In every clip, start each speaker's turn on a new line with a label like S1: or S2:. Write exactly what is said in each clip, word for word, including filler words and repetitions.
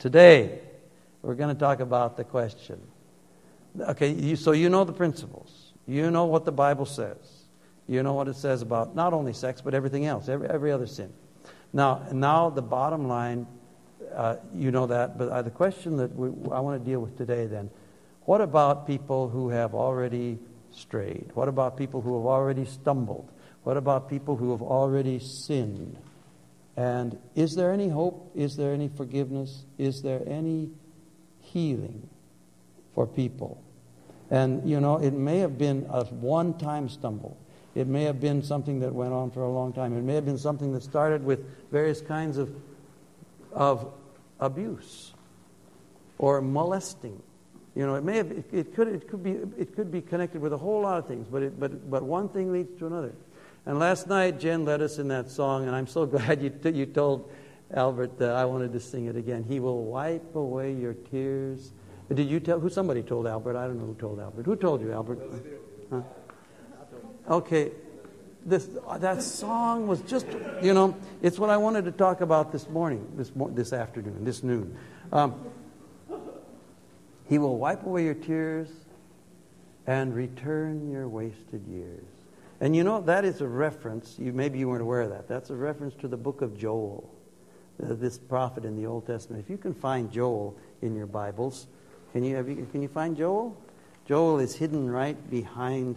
S1: Today, we're going to talk about the question. Okay, you, so you know the principles. You know what the Bible says. You know what it says about not only sex, but everything else, every, every other sin. Now, now the bottom line, uh, you know that, but uh, the question that we, I want to deal with today then, what about people who have already strayed? What about people who have already stumbled? What about people who have already sinned? And is there any hope? Is there any forgiveness? Is there any healing for people? And, you know, it may have been a one-time stumble. It may have been something that went on for a long time. It may have been something that started with various kinds of, of abuse or molesting. You know, it may have, it, it could, it could be, it could be connected with a whole lot of things. But, it, but, but one thing leads to another. And last night, Jen led us in that song, and I'm so glad you t- you told Albert that I wanted to sing it again. He will wipe away your tears. Did you tell? Who? Somebody told Albert. I don't know who told Albert. Who told you, Albert? Huh? Okay, this that song was just, you know, it's what I wanted to talk about this morning, this this afternoon, this noon. Um, he will wipe away your tears and return your wasted years. And you know, that is a reference, you maybe you weren't aware of that, that's a reference to the book of Joel, uh, this prophet in the Old Testament. If you can find Joel in your Bibles, can you, have you can you find Joel? Joel is hidden right behind,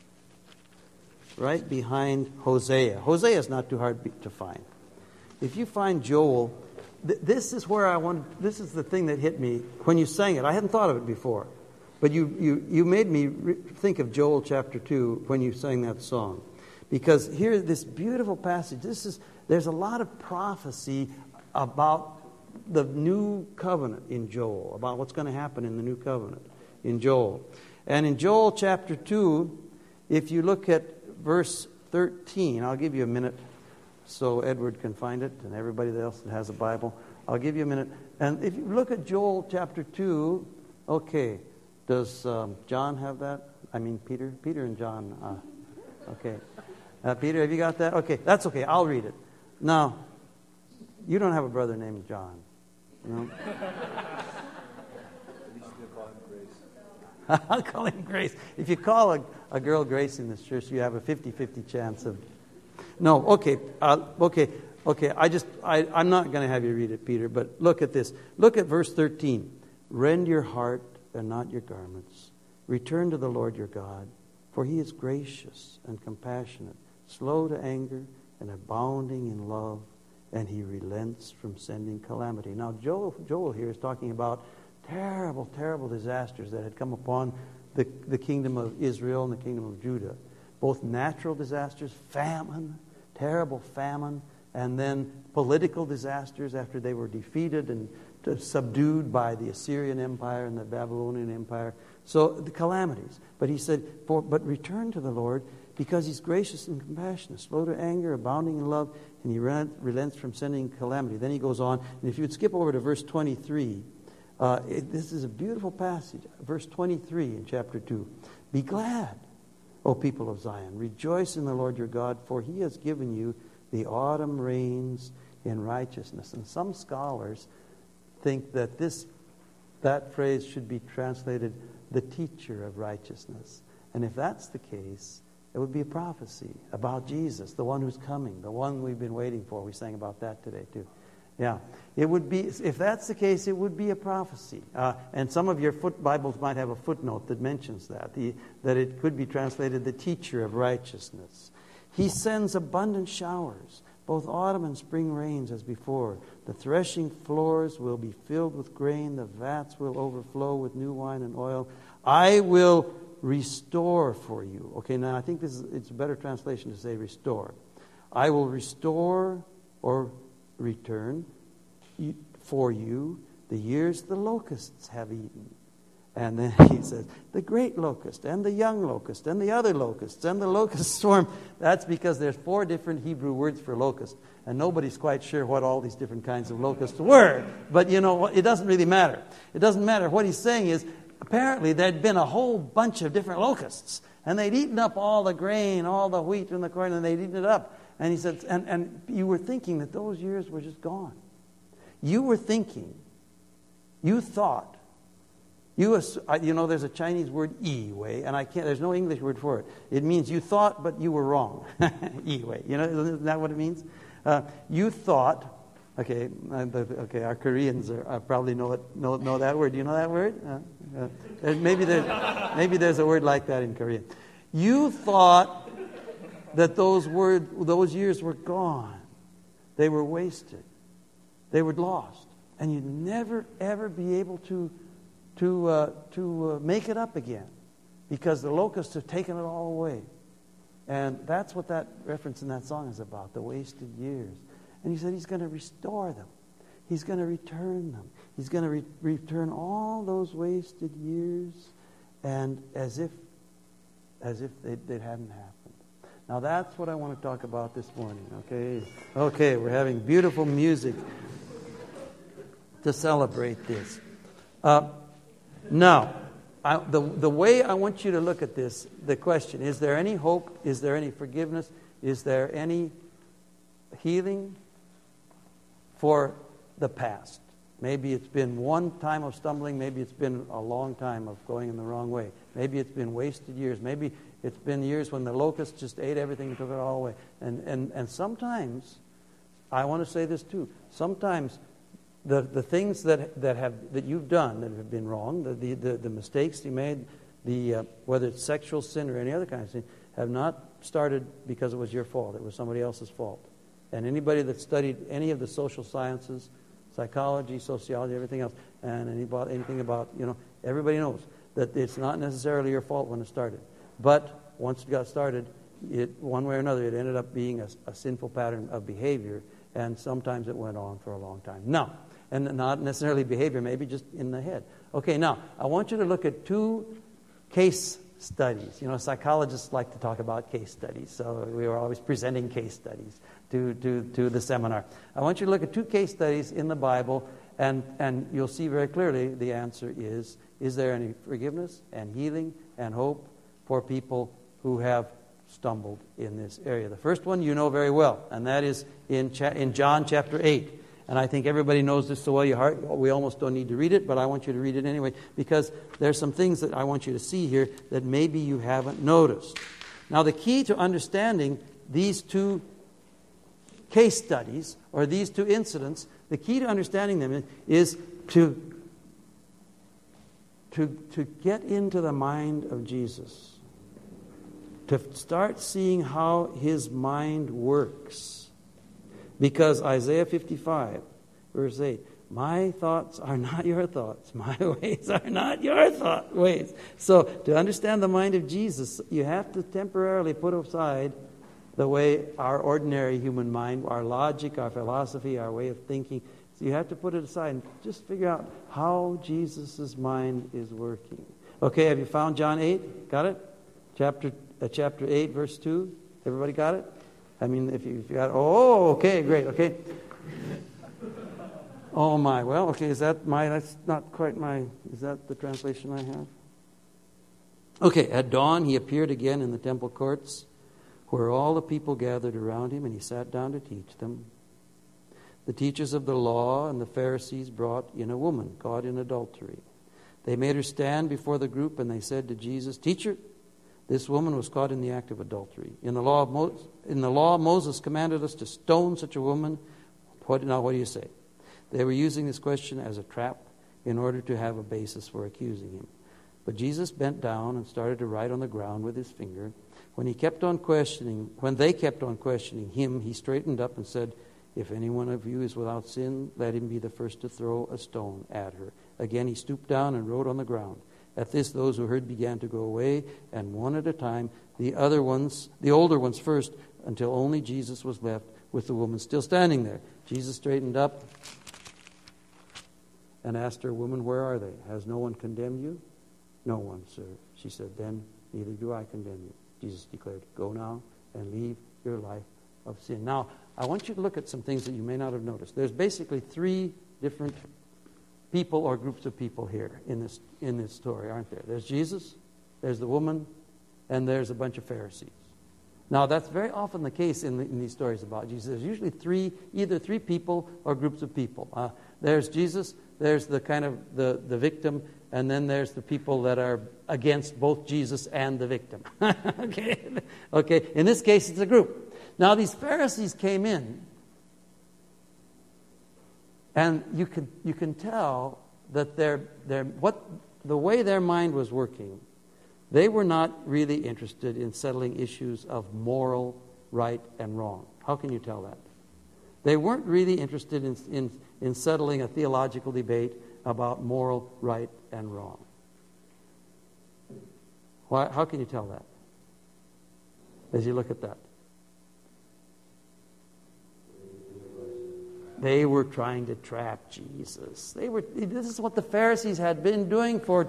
S1: right behind Hosea. Hosea is not too hard to find. If you find Joel, th- this is where I want, this is the thing that hit me when you sang it. I hadn't thought of it before. But you, you, you made me re- think of Joel chapter two when you sang that song. Because here, this beautiful passage, this is there's a lot of prophecy about the new covenant in Joel, about what's going to happen in the new covenant in Joel. And in Joel chapter two, if you look at verse thirteen, I'll give you a minute so Edward can find it and everybody else that has a Bible. I'll give you a minute. And if you look at Joel chapter two, okay. Does um, John have that? I mean, Peter? Peter and John. Uh, okay. Uh, Peter, have you got that? Okay, that's okay. I'll read it. Now, you don't have a brother named John. No? I'll call him Grace. If you call a, a girl Grace in this church, you have a fifty-fifty chance of... No, okay. Uh, okay. Okay. I just, I, I'm not going to have you read it, Peter, but look at this. Look at verse thirteen. Rend your heart and not your garments. Return to the Lord your God, for he is gracious and compassionate, slow to anger and abounding in love, and he relents from sending calamity. Now, Joel, Joel here is talking about terrible, terrible disasters that had come upon the, the kingdom of Israel and the kingdom of Judah. Both natural disasters, famine, terrible famine, and then political disasters after they were defeated and subdued by the Assyrian Empire and the Babylonian Empire. So the calamities. But he said, For, but return to the Lord because he's gracious and compassionate, slow to anger, abounding in love, and he relents from sending calamity. Then he goes on, and if you would skip over to verse twenty-three, uh, it, this is a beautiful passage. Verse twenty-three in chapter two. Be glad, O people of Zion. Rejoice in the Lord your God, for he has given you the autumn rains in righteousness. And some scholars think that this that phrase should be translated the teacher of righteousness. And if that's the case, it would be a prophecy about Jesus, the one who's coming, the one we've been waiting for. We sang about that today too. Yeah, it would be, if that's the case, it would be a prophecy. Uh, and some of your foot Bibles might have a footnote that mentions that, the, that it could be translated the teacher of righteousness. He sends abundant showers, both autumn and spring rains as before. The threshing floors will be filled with grain. The vats will overflow with new wine and oil. I will restore for you. Okay, now I think this is it's a better translation to say restore. I will restore or return for you the years the locusts have eaten. And then he says, the great locust and the young locust and the other locusts and the locust swarm. That's because there's four different Hebrew words for locust. And nobody's quite sure what all these different kinds of locusts were. But you know, it doesn't really matter. It doesn't matter. What he's saying is, apparently there'd been a whole bunch of different locusts. And they'd eaten up all the grain, all the wheat and the corn, and they'd eaten it up. And he said, and, and you were thinking that those years were just gone. You were thinking You thought, you, you know, there's a Chinese word, yi wei, and I can't, there's no English word for it. It means you thought, but you were wrong. Yi wei. You know, isn't that what it means? Uh, you thought, okay, uh, the, okay, our Koreans are, uh, probably know it, know, know that word. Do you know that word? Uh, uh, maybe, there's, maybe there's a word like that in Korean. You thought that those word, those years were gone. They were wasted. They were lost. And you'd never, ever be able to, to, uh, to uh, make it up again because the locusts have taken it all away. And that's what that reference in that song is about, the wasted years. And he said he's going to restore them. He's going to return them. He's going to re- return all those wasted years and as if, as if they, they hadn't happened. Now that's what I want to talk about this morning, okay? Okay, we're having beautiful music to celebrate this. Uh, now, I, the, the way I want you to look at this, the question, is there any hope? Is there any forgiveness? Is there any healing for the past? Maybe it's been one time of stumbling. Maybe it's been a long time of going in the wrong way. Maybe it's been wasted years. Maybe it's been years when the locusts just ate everything and took it all away. And, and, and sometimes, I want to say this too, sometimes the, the things that, that, have, that you've done that have been wrong, the, the, the, the mistakes you made, the, uh, whether it's sexual sin or any other kind of sin, have not started because it was your fault. It was somebody else's fault. And anybody that studied any of the social sciences, psychology, sociology, everything else, and any about, anything about, you know, everybody knows that it's not necessarily your fault when it started. But once it got started, it, one way or another, it ended up being a, a sinful pattern of behavior, and sometimes it went on for a long time. Now, and not necessarily behavior, maybe just in the head. Okay, now, I want you to look at two case studies. You know, psychologists like to talk about case studies, so we were always presenting case studies to, to, to the seminar. I want you to look at two case studies in the Bible, and, and you'll see very clearly the answer is, is there any forgiveness and healing and hope for people who have stumbled in this area? The first one you know very well, and that is in, cha- in John chapter eight. And I think everybody knows this so well, you heart, we almost don't need to read it, but I want you to read it anyway, because there's some things that I want you to see here that maybe you haven't noticed. Now, the key to understanding these two case studies, or these two incidents, the key to understanding them is to, to, to get into the mind of Jesus, to start seeing how his mind works. Because Isaiah fifty-five, verse eight, my thoughts are not your thoughts. My ways are not your thought ways. So to understand the mind of Jesus, you have to temporarily put aside the way our ordinary human mind, our logic, our philosophy, our way of thinking. So you have to put it aside and just figure out how Jesus' mind is working. Okay, have you found John eight? Got it? Chapter, uh, chapter eight, verse two. Everybody got it? I mean, if you, if you got, oh, okay, great, okay. Oh my, well, okay, is that my, that's not quite my, is that the translation I have? Okay, at dawn he appeared again in the temple courts where all the people gathered around him, and he sat down to teach them. The teachers of the law and the Pharisees brought in a woman caught in adultery. They made her stand before the group, and they said to Jesus, "Teacher, this woman was caught in the act of adultery. In the law of Mo- in the law, Moses commanded us to stone such a woman. What, now, what do you say?" They were using this question as a trap in order to have a basis for accusing him. But Jesus bent down and started to write on the ground with his finger. When he kept on questioning, when they kept on questioning him, he straightened up and said, "If any one of you is without sin, let him be the first to throw a stone at her." Again he stooped down and wrote on the ground. At this, those who heard began to go away, and one at a time, the other ones, the older ones first, until only Jesus was left with the woman still standing there. Jesus straightened up and asked her, "Woman, where are they? Has no one condemned you?" "No one, sir." She said, "Then neither do I condemn you." Jesus declared, "Go now and leave your life of sin." Now, I want you to look at some things that you may not have noticed. There's basically three different people or groups of people here in this in this story, aren't there? There's Jesus, there's the woman, and there's a bunch of Pharisees. Now, that's very often the case in, the, in these stories about Jesus. There's usually three, either three people or groups of people. Uh, there's Jesus, there's the kind of the, the victim, and then there's the people that are against both Jesus and the victim. okay? Okay. In this case, it's a group. Now, these Pharisees came in, and you can you can tell that they're, they're, what the way their mind was working, they were not really interested in settling issues of moral right and wrong. How can you tell that? They weren't really interested in, in, in settling a theological debate about moral right and wrong. Why, how can you tell that as you look at that? They were trying to trap Jesus. They were. This is what the Pharisees had been doing for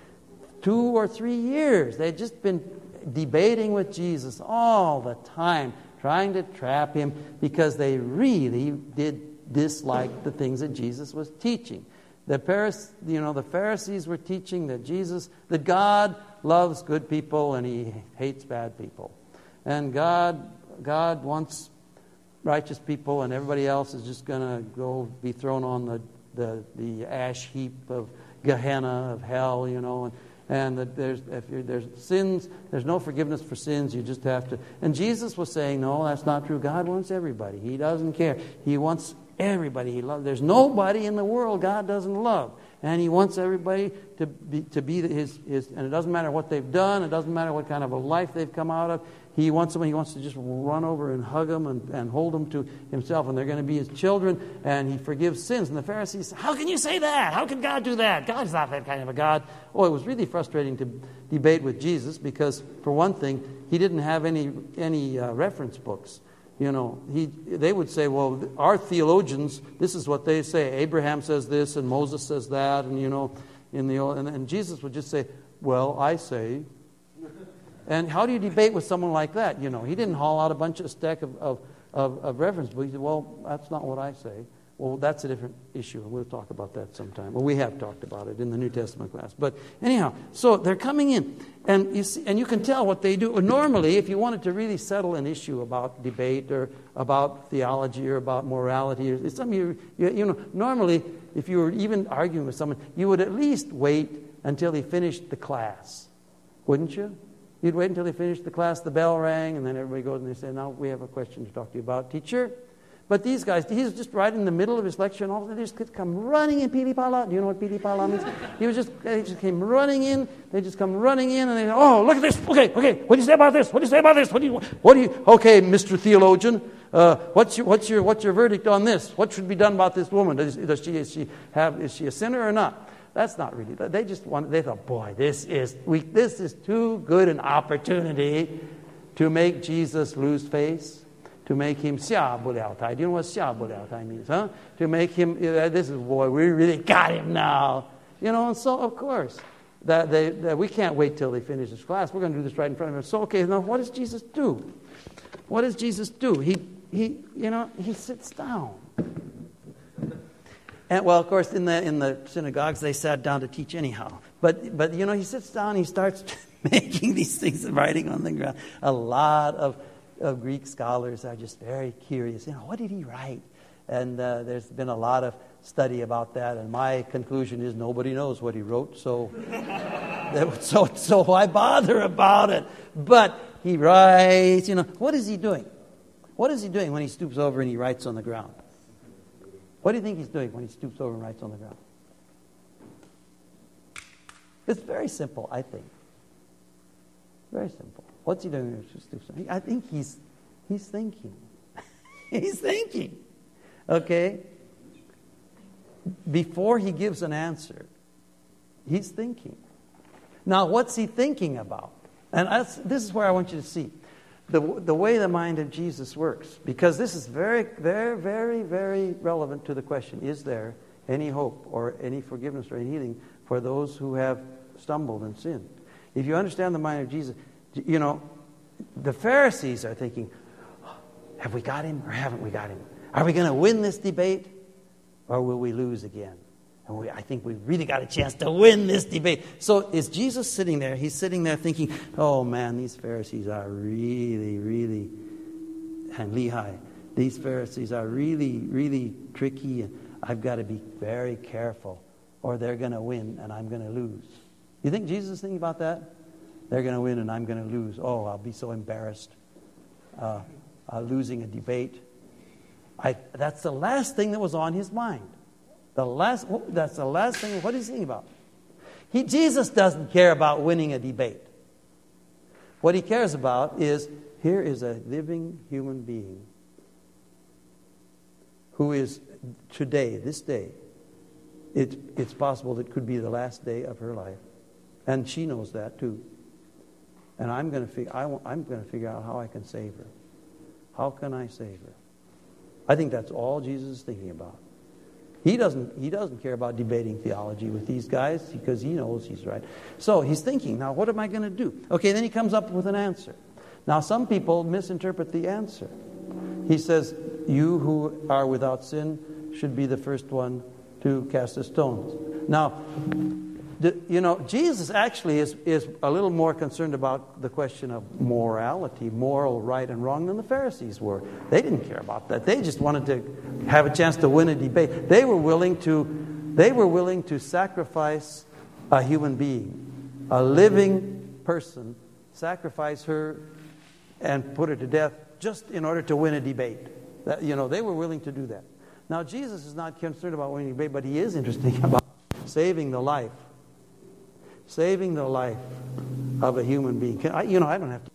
S1: two or three years. They had just been debating with Jesus all the time, trying to trap him because they really did dislike the things that Jesus was teaching. The Paris, you know, the Pharisees were teaching that Jesus, that God loves good people and He hates bad people, and God, God wants righteous people, and everybody else is just going to go be thrown on the, the the ash heap of Gehenna, of hell, you know, and and that there's if you're, there's sins, there's no forgiveness for sins. You just have to. And Jesus was saying, no, that's not true. God wants everybody. He doesn't care. He wants everybody. He loves. There's nobody in the world God doesn't love, and He wants everybody to be to be His His. And it doesn't matter what they've done. It doesn't matter what kind of a life they've come out of. He wants them. He wants to just run over and hug them and, and hold them to Himself, and they're going to be His children. And He forgives sins. And the Pharisees, how can you say that? How can God do that? God's not that kind of a God. Oh, it was really frustrating to debate with Jesus because, for one thing, He didn't have any any uh, reference books. You know, he they would say, well, our theologians, this is what they say. Abraham says this, and Moses says that, and you know, in the old, and, and Jesus would just say, well, I say. And how do you debate with someone like that? You know, he didn't haul out a bunch of stack of, of, of, of reference books. He said, well, that's not what I say. Well, that's a different issue. We'll talk about that sometime. Well, we have talked about it in the New Testament class. But anyhow, so they're coming in. And you see, and you can tell what they do. Normally, if you wanted to really settle an issue about debate or about theology or about morality, or some you, you, you know, normally, if you were even arguing with someone, you would at least wait until he finished the class. Wouldn't you? You'd wait until they finished the class, the bell rang, and then everybody goes and they say, now we have a question to talk to you about, teacher. But these guys, he's just right in the middle of his lecture, and all of a sudden they just come running in, pili pala. Do you know what pili pala means? He was just, they just came running in. They just come running in, and they say, oh, look at this. Okay, okay. What do you say about this? What do you say about this? What do you, what do you? Okay, Mister Theologian, uh, what's your, what's your, what's your verdict on this? What should be done about this woman? Does, does she, is she have, is she a sinner or not? That's not really. They just wanted. They thought, boy, this is we. This is too good an opportunity to make Jesus lose face, to make him xia bu liao tai. Do you know what xia bu liao tai means, huh? To make him. Uh, this is boy. We really got him now. You know. And so, of course, that they that we can't wait till they finish this class. We're going to do this right in front of him. So, okay. Now, what does Jesus do? What does Jesus do? He he. You know. He sits down. And, well, of course, in the in the synagogues, they sat down to teach anyhow. But, but you know, he sits down, he starts making these things and writing on the ground. A lot of, of Greek scholars are just very curious. You know, what did he write? And uh, there's been a lot of study about that. And my conclusion is nobody knows what he wrote, so, so, so why bother about it? But he writes, you know, what is he doing? What is he doing when he stoops over and he writes on the ground? What do you think he's doing when he stoops over and writes on the ground? It's very simple, I think. Very simple. What's he doing when he stoops over? I think he's he's thinking. He's thinking. Okay? Before he gives an answer, he's thinking. Now, what's he thinking about? And that's, this is where I want you to see. The, the way the mind of Jesus works. Because this is very, very, very, very relevant to the question, is there any hope or any forgiveness or any healing for those who have stumbled and sinned? If you understand the mind of Jesus, you know, the Pharisees are thinking, have we got him or haven't we got him? Are we going to win this debate or will we lose again? And we, I think we've really got a chance to win this debate. So is Jesus sitting there? He's sitting there thinking, oh man, these Pharisees are really, really, and Lehi, these Pharisees are really, really tricky. And I've got to be very careful or they're going to win and I'm going to lose. You think Jesus is thinking about that? They're going to win and I'm going to lose. Oh, I'll be so embarrassed uh, uh, losing a debate. I, that's the last thing that was on his mind. The last, that's the last thing. What is he thinking about? He, Jesus doesn't care about winning a debate. What he cares about is, here is a living human being who is today, this day, it, it's possible that it could be the last day of her life. And she knows that too. And I'm going to figure, I, I'm going to figure out how I can save her. How can I save her? I think that's all Jesus is thinking about. He doesn't, he doesn't care about debating theology with these guys because he knows he's right. So he's thinking, now what am I going to do? Okay, then he comes up with an answer. Now some people misinterpret the answer. He says, you who are without sin should be the first one to cast a stone. Now, the, you know, Jesus actually is, is a little more concerned about the question of morality, moral right and wrong, than the Pharisees were. They didn't care about that. They just wanted to have a chance to win a debate. They were willing to, they were willing to sacrifice a human being, a living person, sacrifice her and put her to death just in order to win a debate. That, you know, they were willing to do that. Now, Jesus is not concerned about winning a debate, but he is interested about saving the life. Saving the life of a human being. Can I, you know, I don't have to